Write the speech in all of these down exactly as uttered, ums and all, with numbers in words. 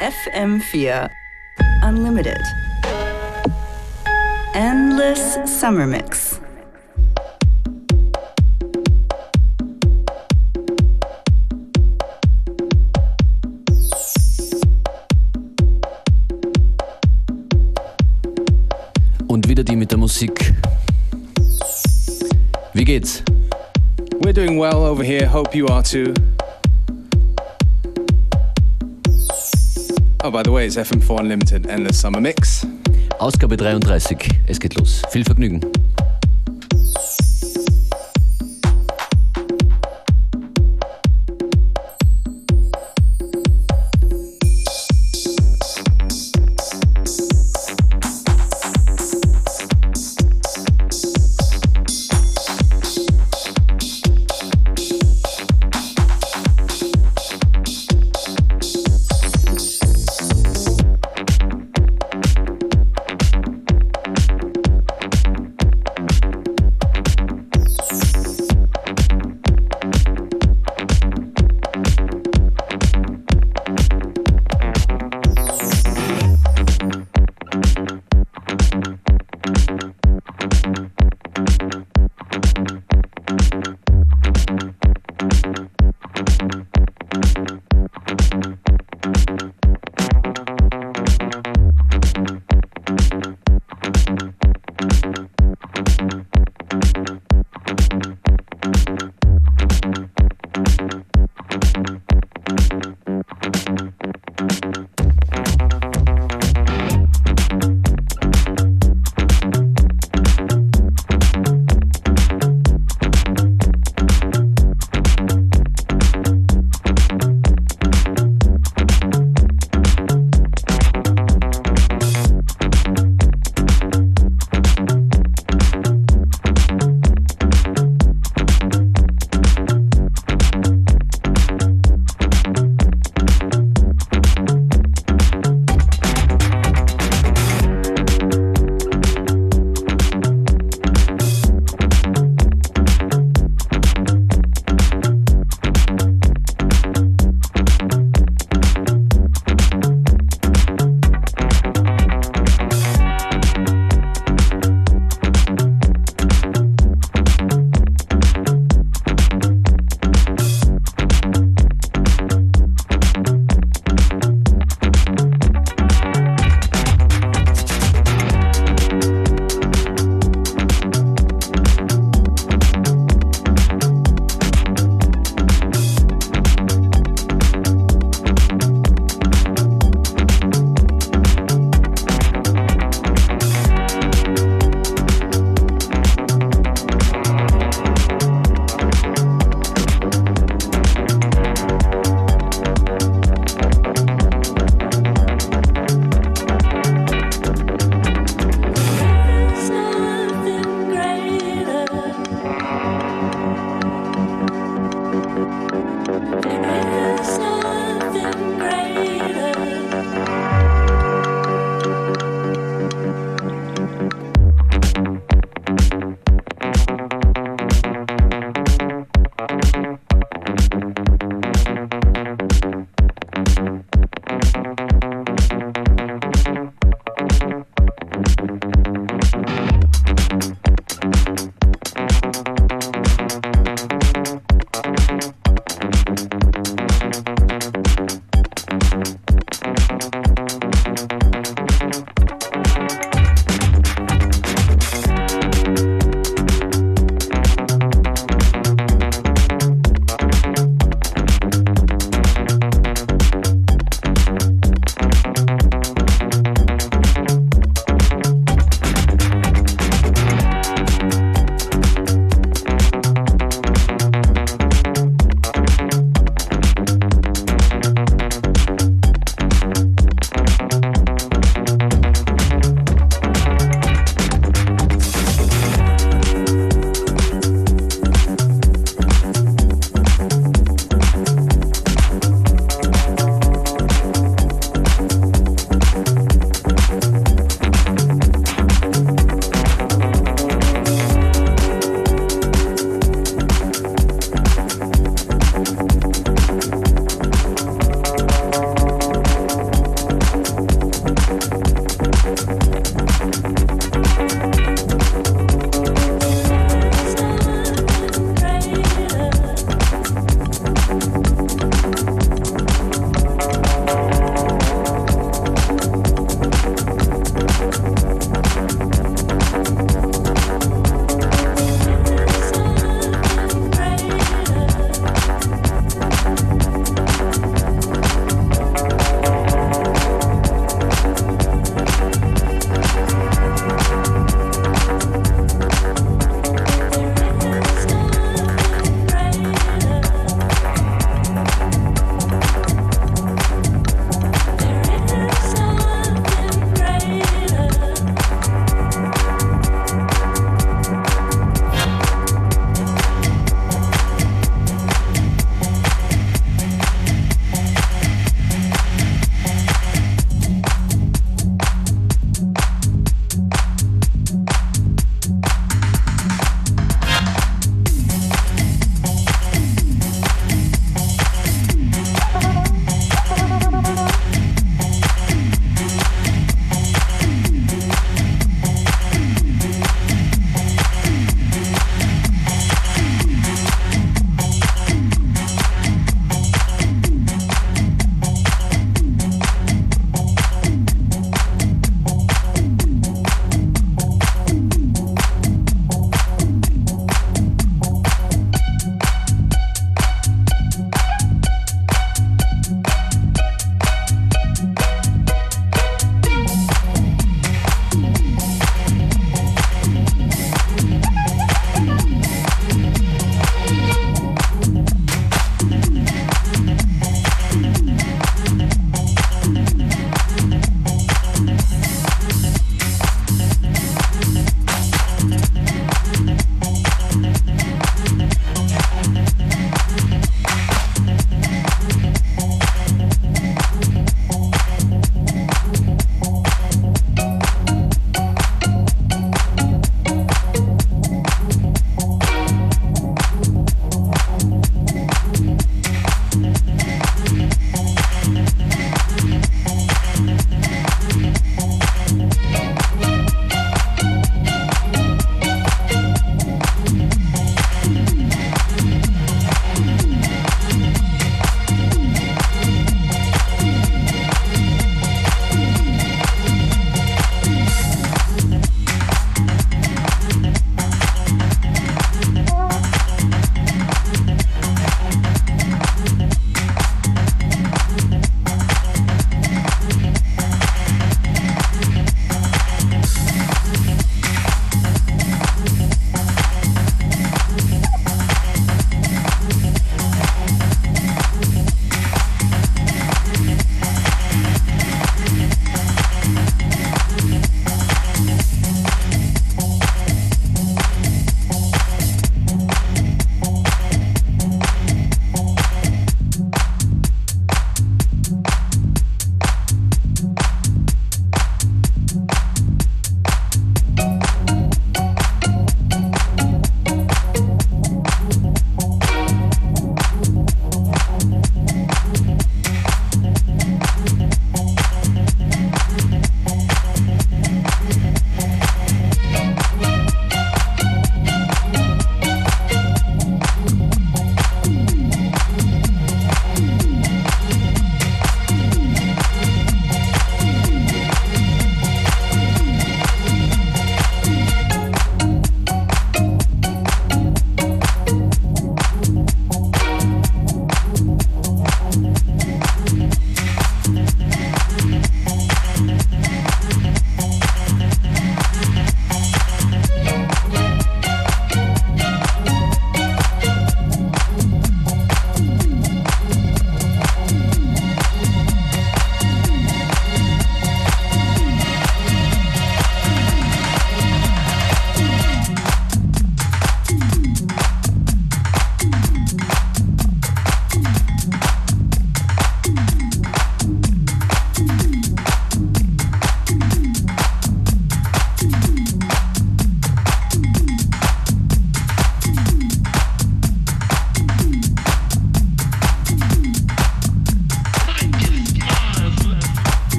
F M vier Unlimited. Endless Summer Mix. Und wieder die mit der Musik. Wie geht's? We're doing well over here, hope you are too. Oh, by the way, it's F M four Unlimited Endless Summer Mix. Ausgabe dreiunddreißig. Es geht los. Viel Vergnügen.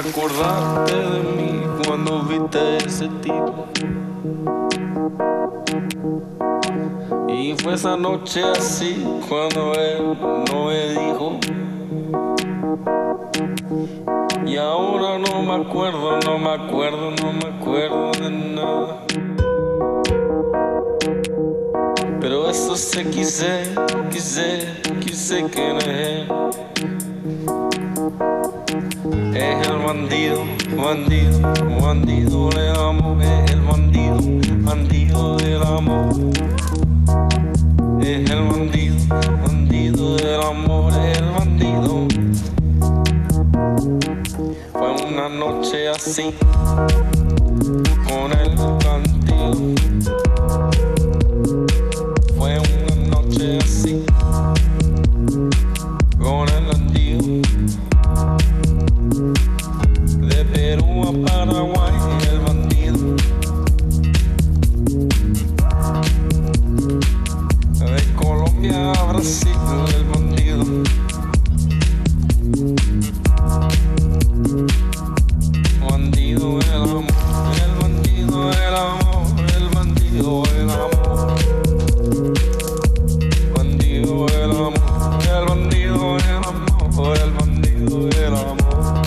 acordaste de mí cuando viste a ese tipo. Y fue esa noche así cuando él no me dijo. Y ahora no me acuerdo, no me acuerdo, no me acuerdo de nada. Pero eso sí quise, quise, quise que no es él. Es el bandido, bandido, bandido del amor. Es el bandido, bandido del amor. Es el bandido, bandido del amor. Es el bandido. Fue una noche así, con el bandido. Fue una noche así, con el bandido. De Perú a Paraguay, el bandido. De Colombia a Brasil, el bandido. Bandido el amor, el bandido el amor, el bandido el amor. Bandido el amor, el bandido el amor, el bandido el amor.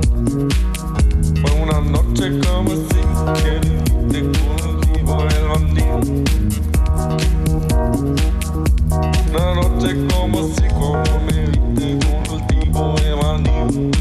Fue una noche como así que te cultivo el bandido. Una noche como así como me viste con el tipo de bandido.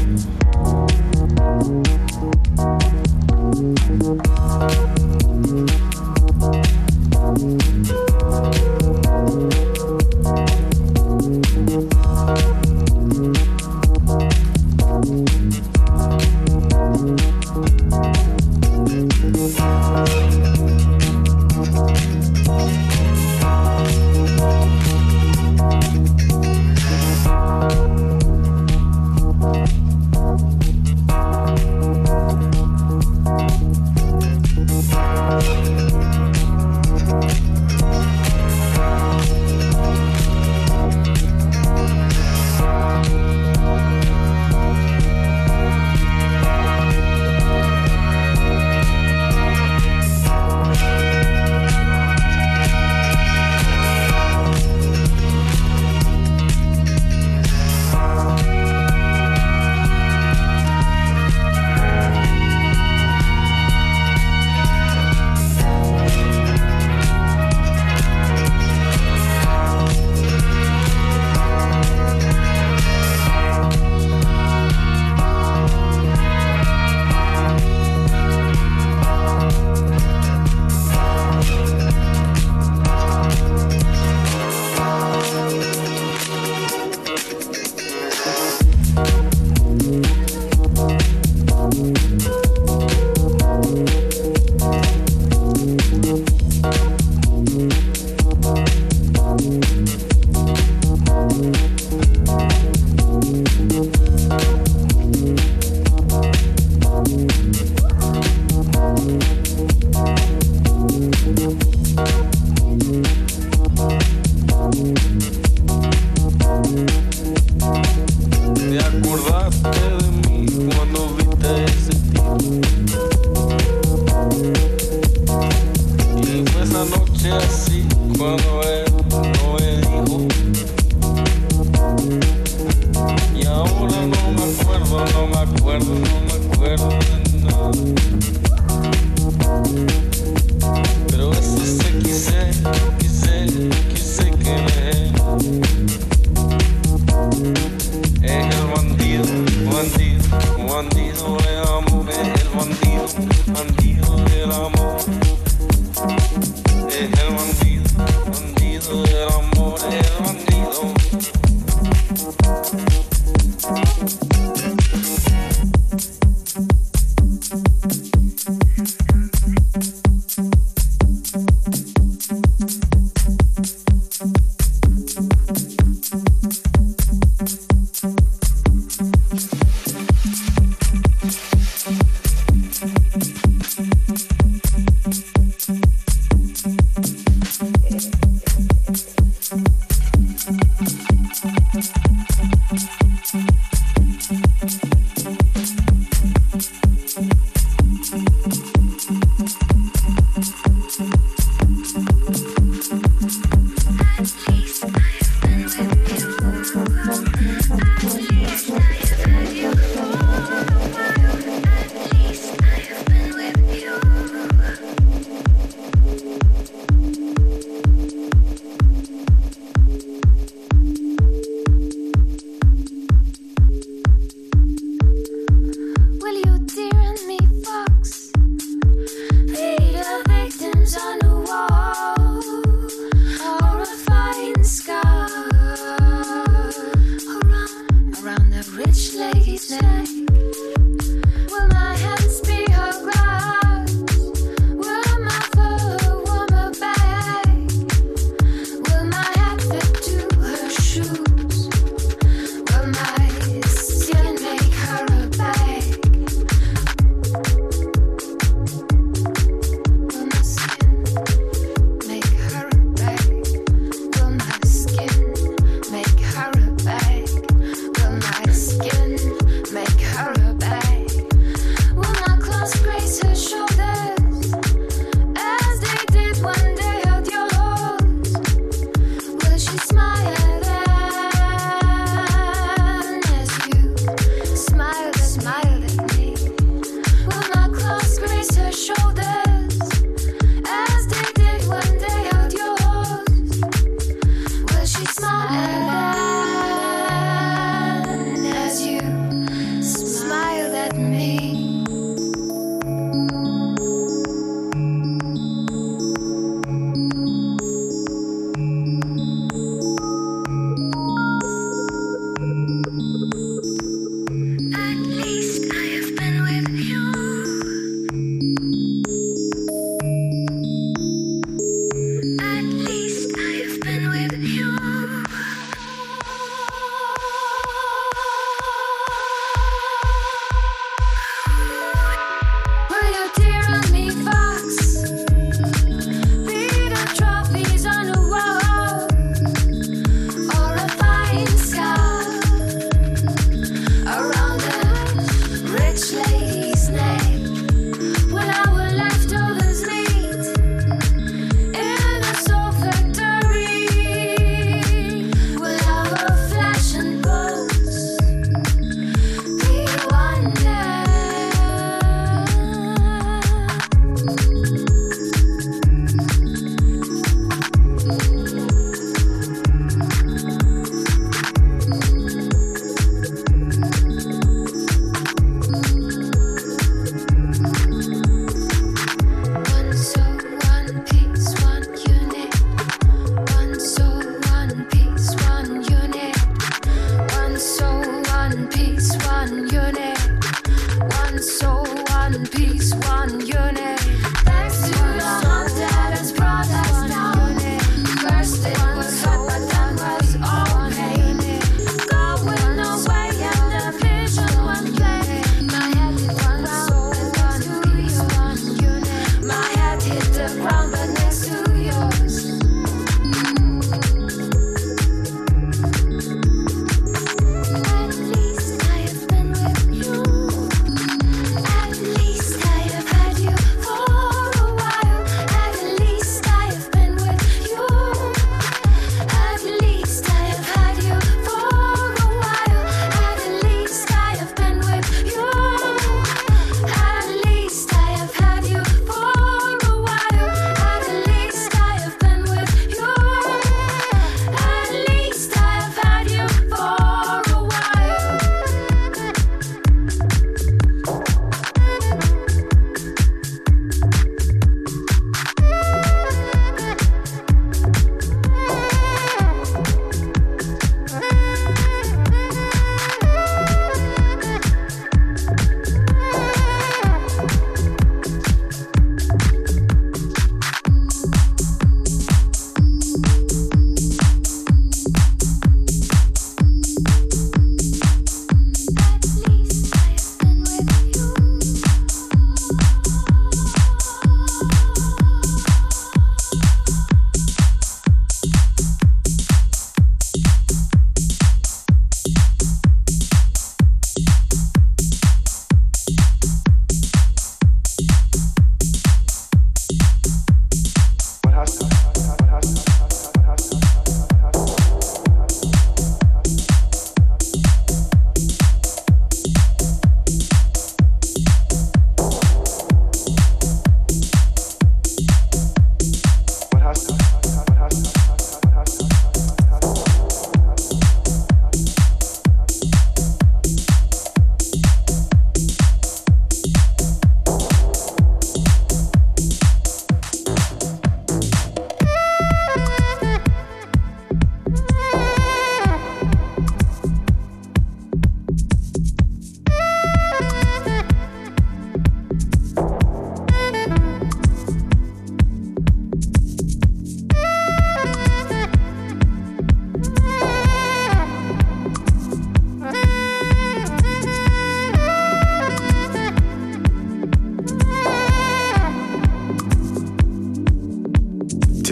rich lady's name? Will my hands be her glass? Will my fur warm her back? Will my hat fit to her shoes? Will my skin make her a bag? Will my skin make her a bag? Will my skin make her a bag? Will my skin make her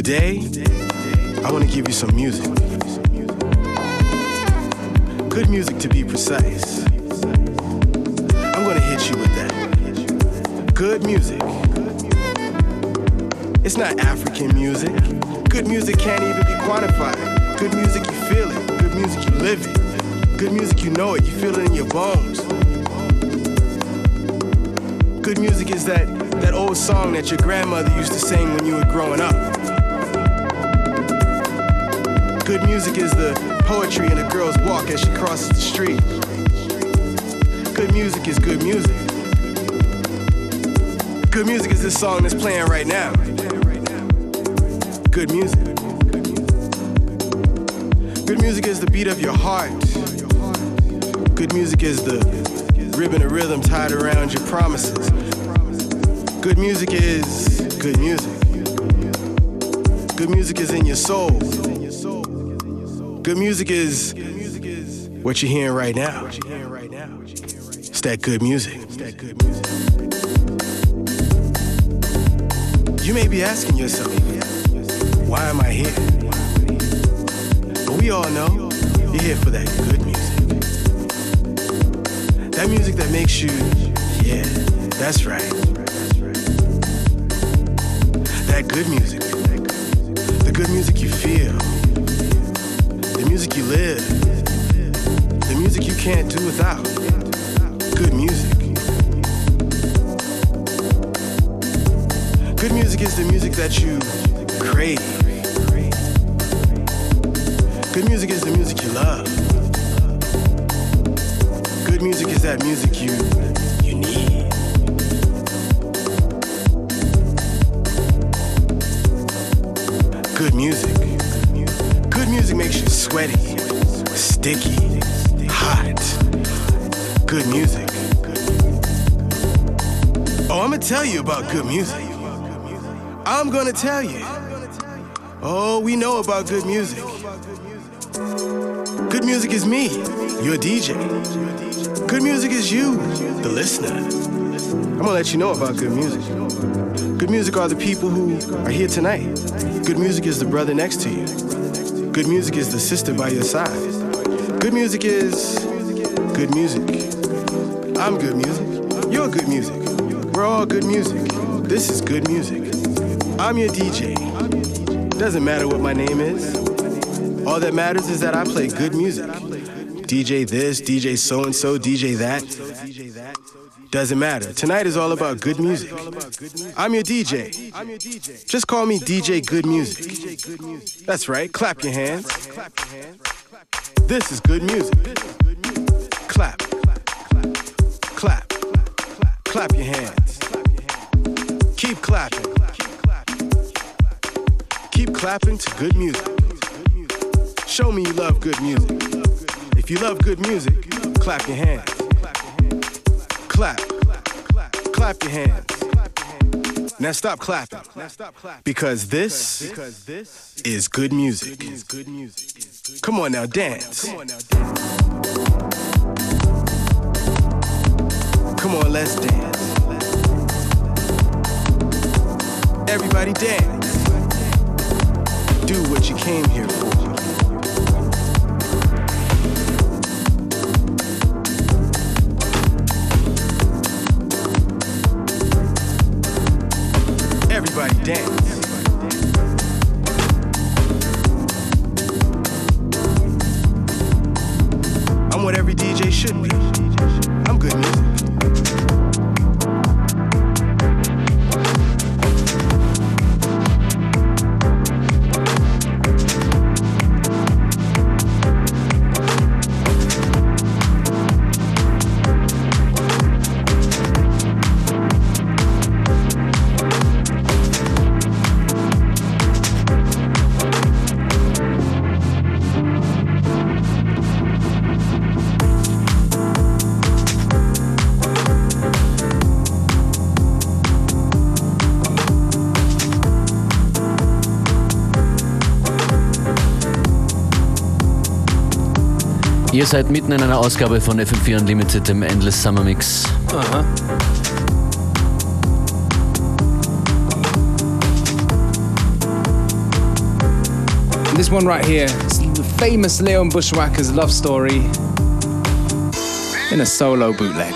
Today, I want to give you some music. Good music to be precise. I'm going to hit you with that. Good music. It's not African music. Good music can't even be quantified. Good music, you feel it. Good music, you live it. Good music, you know it. You feel it in your bones. Good music is that, that old song that your grandmother used to sing when you were growing up. Good music is the poetry in a girl's walk as she crosses the street. Good music is good music. Good music is this song that's playing right now. Good music. Good music is the beat of your heart. Good music is the ribbon of rhythm tied around your promises. Good music is good music. Good music is in your soul. Good music is what you're hearing right now. It's that good music. You may be asking yourself, why am I here? But we all know you're here for that good music. That music that makes you, yeah, that's right. That good music. The good music you feel. The music you live. The music you can't do without. Good music. Good music is the music that you crave. Good music is the music you love. Good music is that music you, you need. Good music. Good music makes you sweaty, sticky, hot. Good music. Oh, I'm gonna tell you about good music. I'm gonna tell you. Oh, we know about good music. Good music is me, your D J. Good music is you, the listener. I'm gonna let you know about good music. Good music are the people who are here tonight. Good music is the brother next to you. Good music is the sister by your side. Good music is good music. I'm good music. You're good music. We're all good music. This is good music. I'm your D J. Doesn't matter what my name is. All that matters is that I play good music. D J this, D J so-and-so, D J that. Doesn't matter. Tonight is all about good music. I'm your D J. Just call me D J Good Music. That's right. Clap your hands. This is good music. Clap. Clap. Clap your hands. Keep clapping. Keep clapping to good music. Show me you love good music. If you love good music, clap your hands. Clap. Clap your hands. Now stop clapping. Because this is good music. Come on now, dance. Come on, let's dance. Everybody dance. Do what you came here for. Everybody dance. I'm what every D J should be. I'm good music. Ihr seid mitten in einer Ausgabe von F M vier Unlimited, dem Endless Summer Mix. Aha. And this one right here is the famous Leon Bushwacker's love story in a solo bootleg.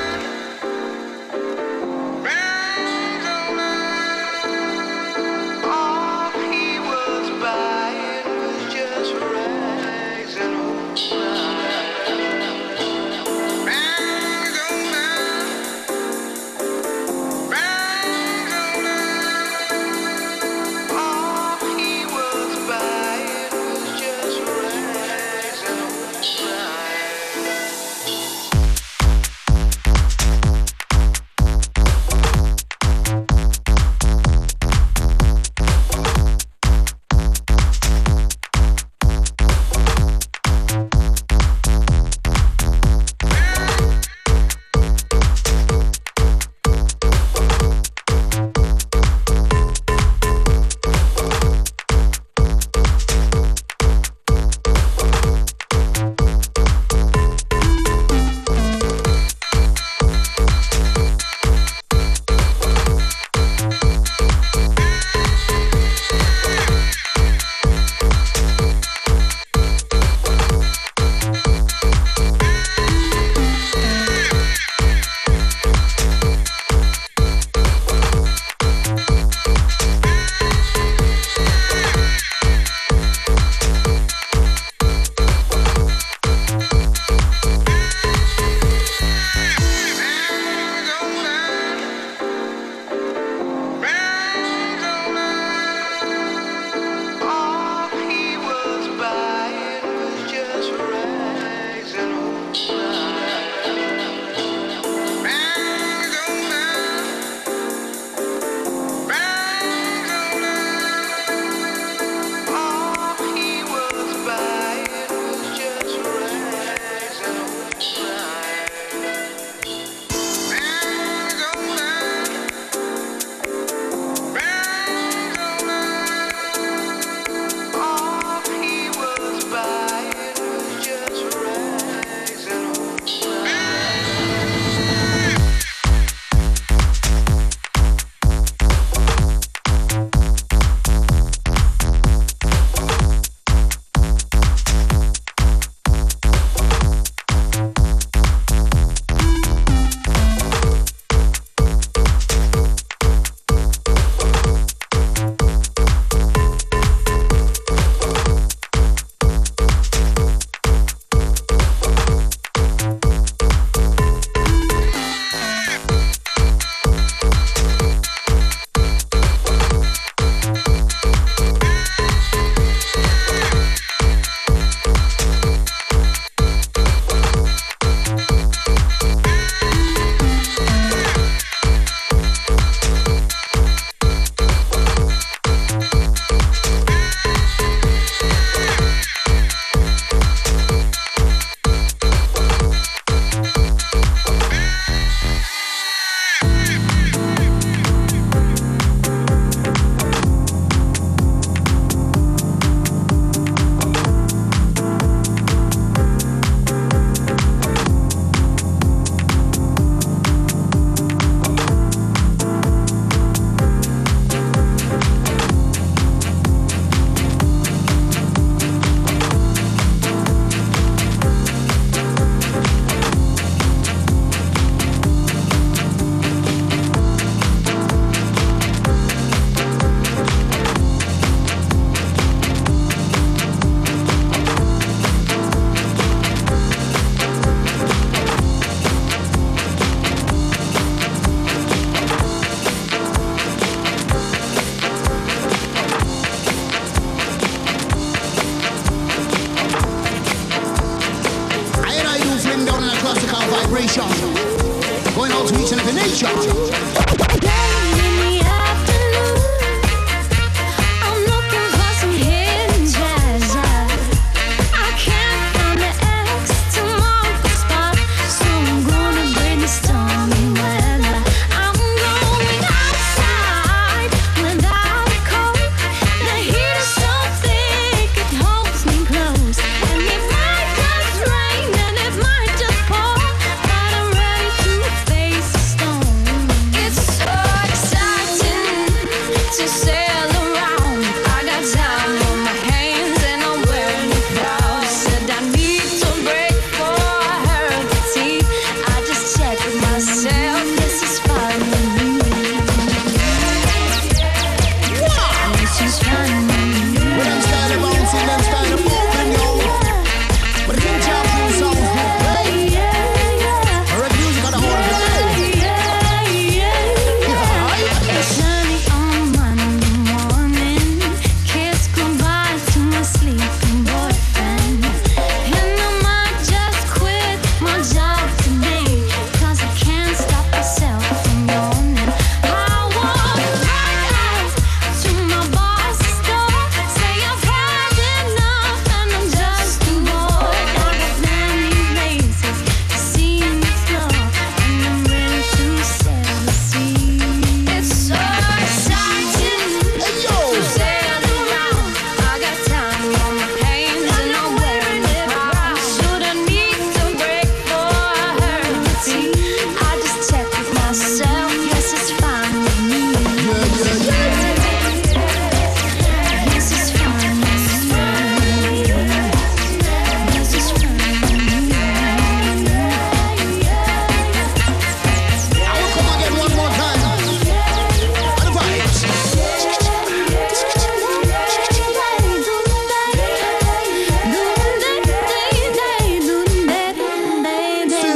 vibration, going out to each and every nation. It's so exciting.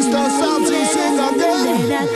Mister Samson sing again.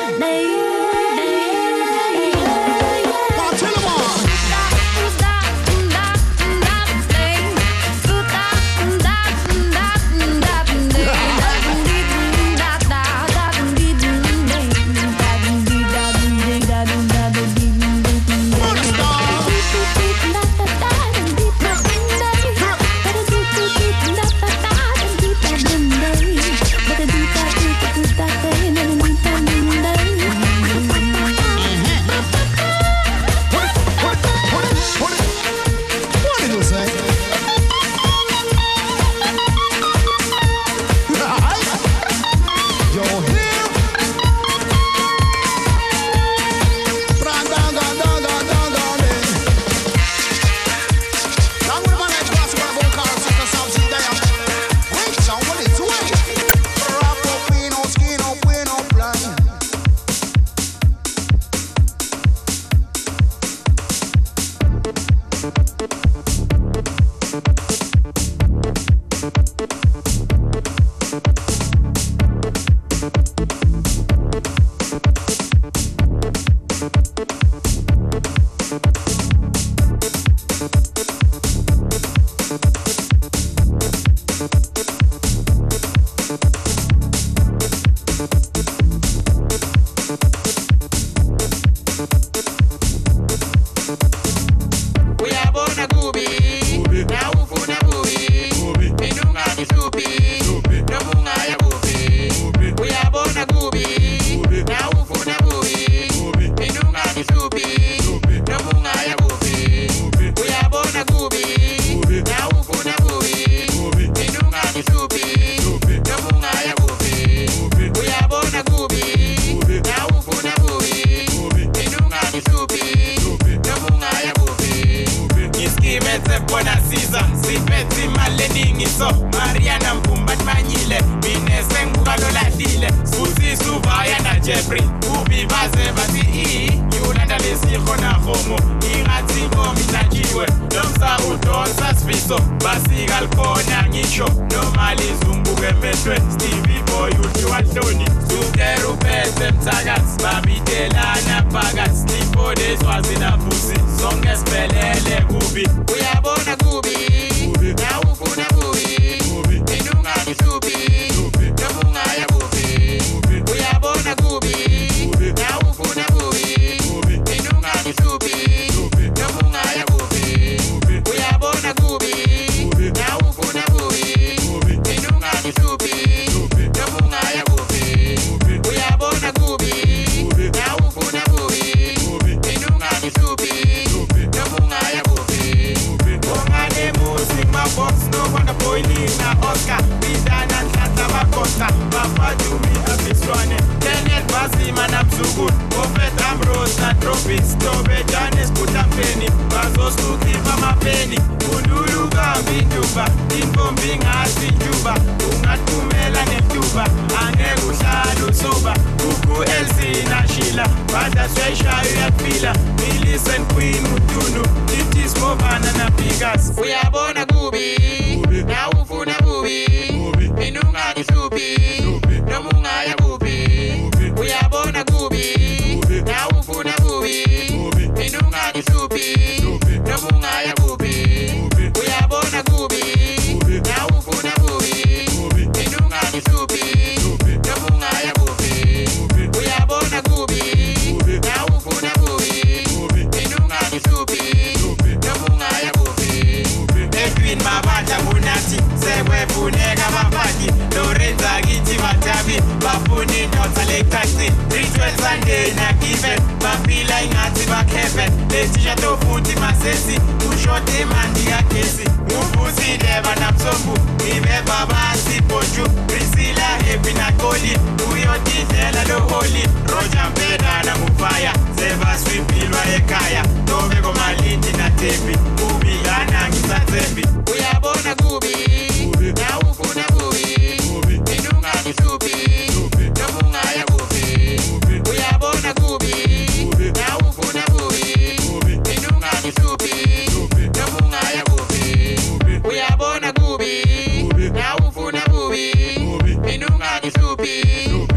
Uyabona kubi, na ufuna kubi, minungani supi.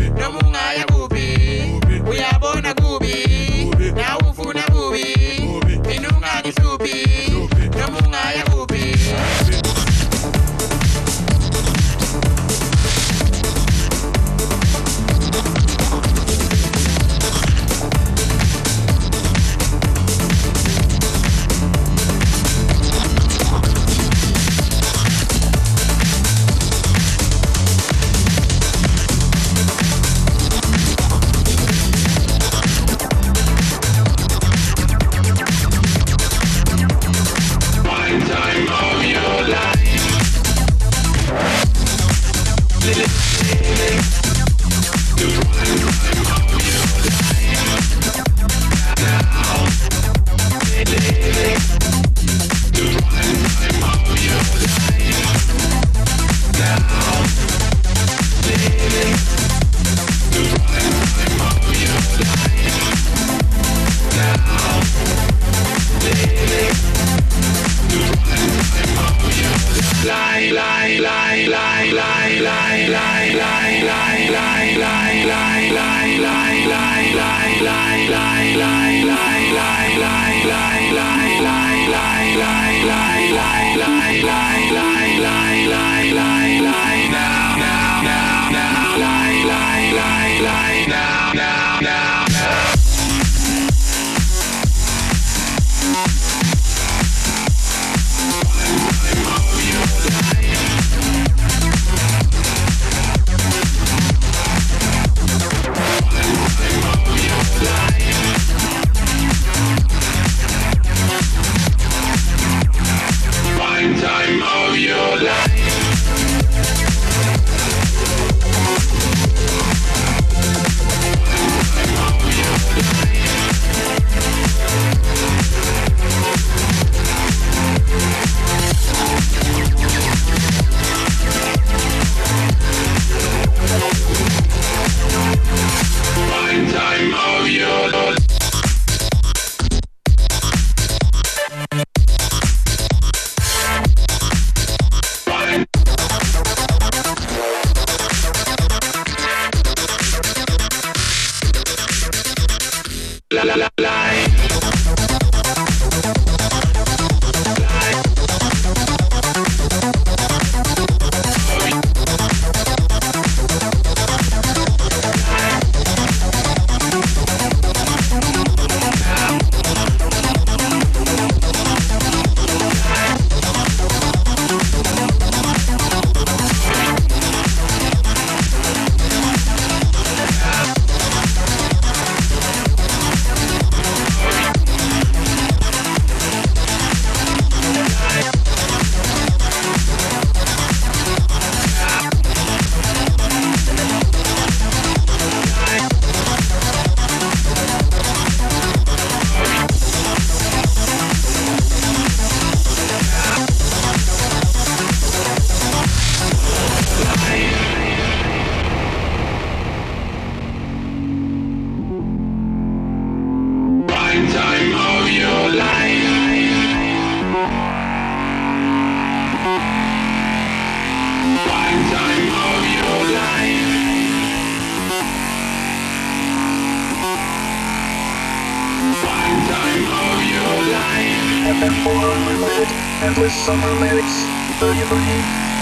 F M four Unlimited, endless summer mix. Are you ready?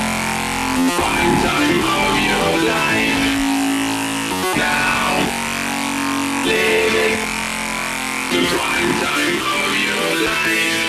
Prime time of your life. Now, living the prime time of your life.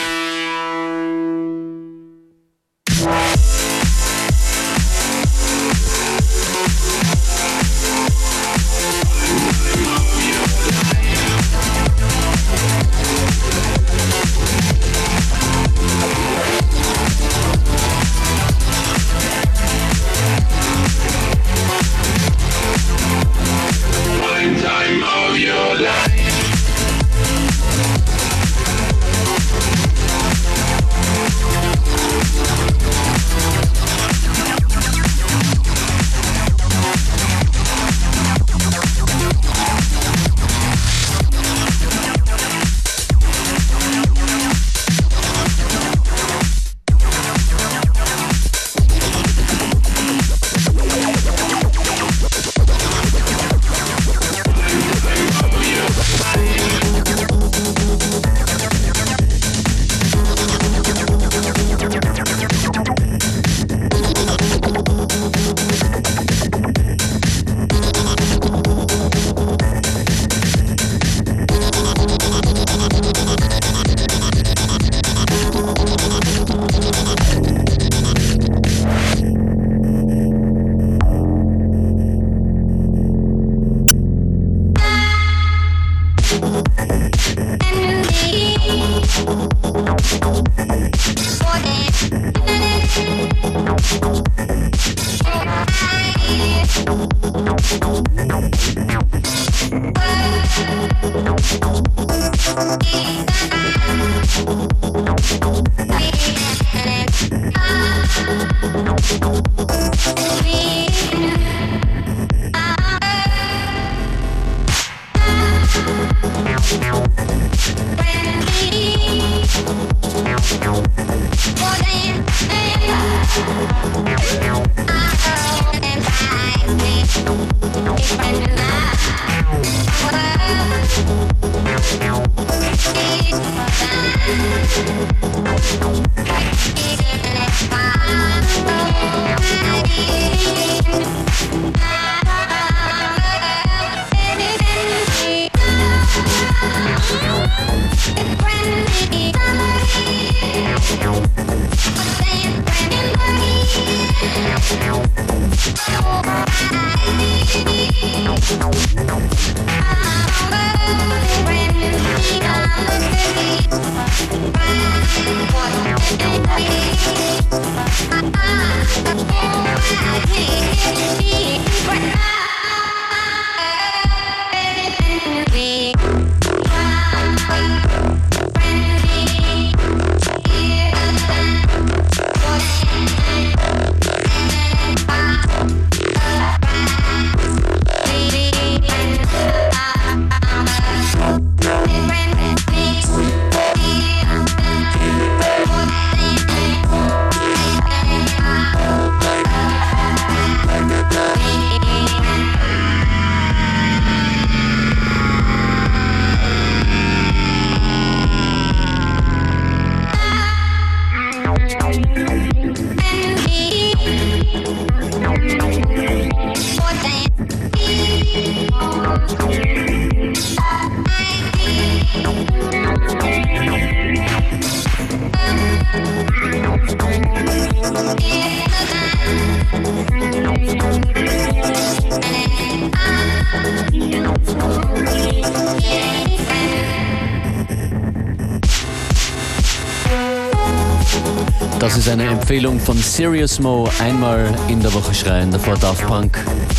If I knew that, Das ist eine Empfehlung von Serious Mo, einmal in der Woche schreien, davor Daft Punk.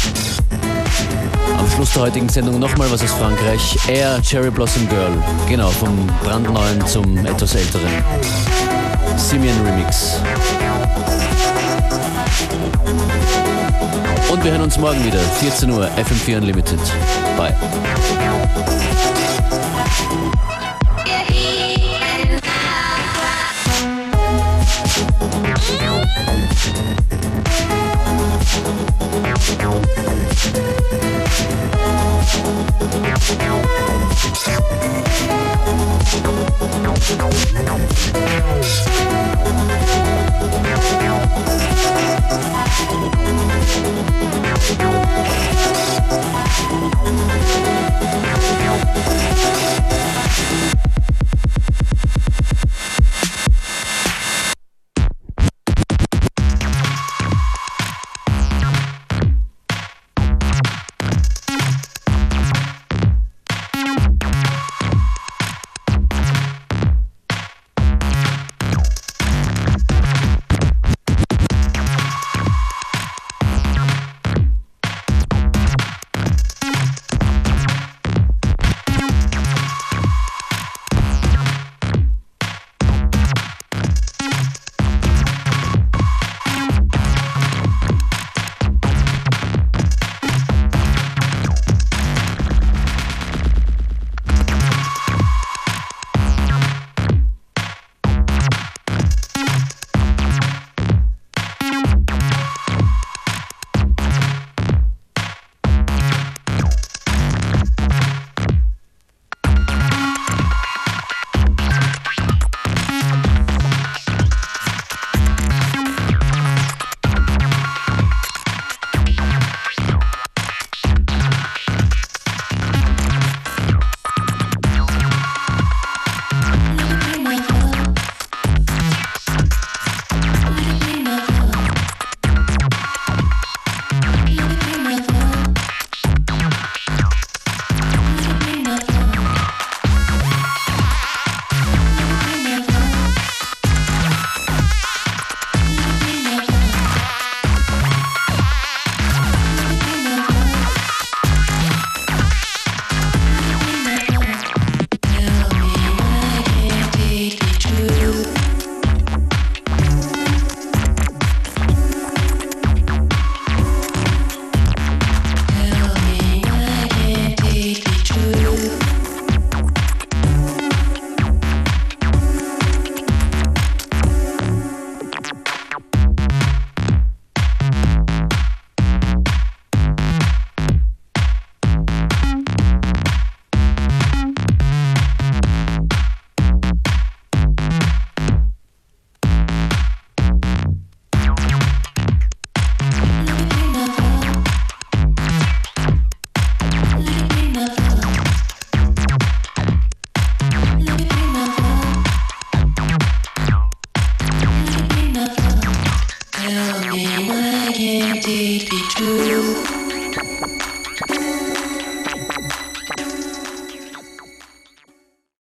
Am Schluss der heutigen Sendung nochmal was aus Frankreich. Air, Cherry Blossom Girl. Genau, vom brandneuen zum etwas älteren. Simeon Remix. Und wir hören uns morgen wieder, vierzehn Uhr, F M vier Unlimited. Bye. Yeah.